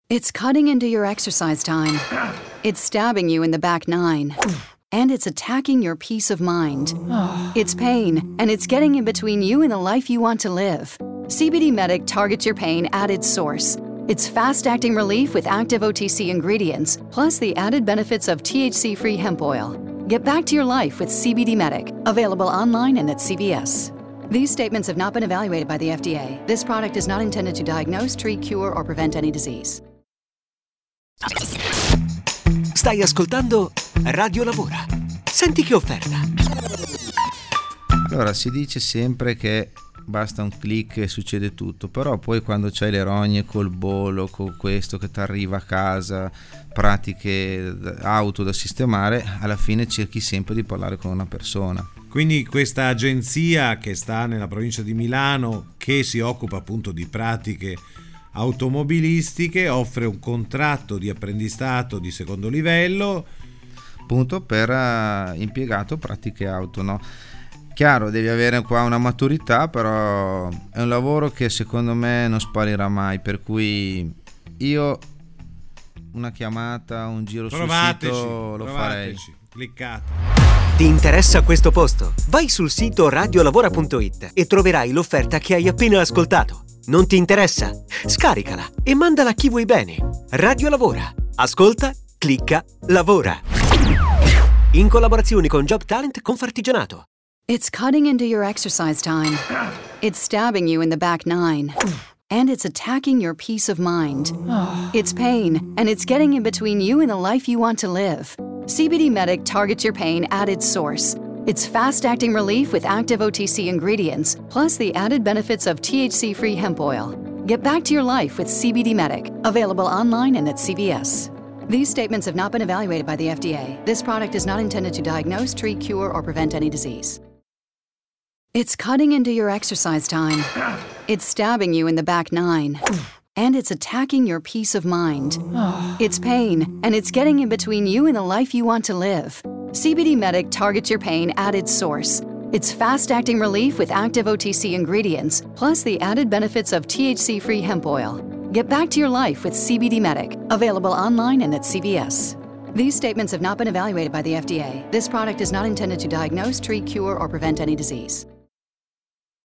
It's cutting into your exercise time. It's stabbing you in the back nine. And it's attacking your peace of mind. It's pain, and it's getting in between you and the life you want to live. CBD Medic targets your pain at its source. It's fast-acting relief with active OTC ingredients, plus the added benefits of THC-free hemp oil. Get back to your life with CBD Medic, available online and at CVS. These statements have not been evaluated by the FDA. This product is not intended to diagnose, treat, cure, or prevent any disease. Stai ascoltando Radio Lavora. Senti che offerta. Allora, si dice sempre che basta un click e succede tutto, però poi quando c'hai le rogne col bollo, con questo che ti arriva a casa, pratiche auto da sistemare, alla fine cerchi sempre di parlare con una persona. Quindi questa agenzia che sta nella provincia di Milano, che si occupa appunto di pratiche automobilistiche, offre un contratto di apprendistato di secondo livello appunto per impiegato pratiche auto, no? Chiaro, devi avere qua una maturità, però è un lavoro che secondo me non sparirà mai, per cui io una chiamata, un giro sul sito lo farei. Cliccate. Ti interessa questo posto? Vai sul sito radiolavora.it e troverai l'offerta che hai appena ascoltato. Non ti interessa? Scaricala e mandala a chi vuoi bene. Radio Lavora. Ascolta, clicca, lavora. In collaborazione con Job Talent Confartigianato. It's cutting into your exercise time. It's stabbing you in the back nine. And it's attacking your peace of mind. It's pain, and it's getting in between you and the life you want to live. CBD Medic targets your pain at its source. It's fast-acting relief with active OTC ingredients, plus the added benefits of THC-free hemp oil. Get back to your life with CBD Medic, available online and at CVS. These statements have not been evaluated by the FDA. This product is not intended to diagnose, treat, cure, or prevent any disease. It's cutting into your exercise time. It's stabbing you in the back nine. And it's attacking your peace of mind. It's pain, and it's getting in between you and the life you want to live. CBD Medic targets your pain at its source. It's fast-acting relief with active OTC ingredients, plus the added benefits of THC-free hemp oil. Get back to your life with CBD Medic, available online and at CVS. These statements have not been evaluated by the FDA. This product is not intended to diagnose, treat, cure, or prevent any disease.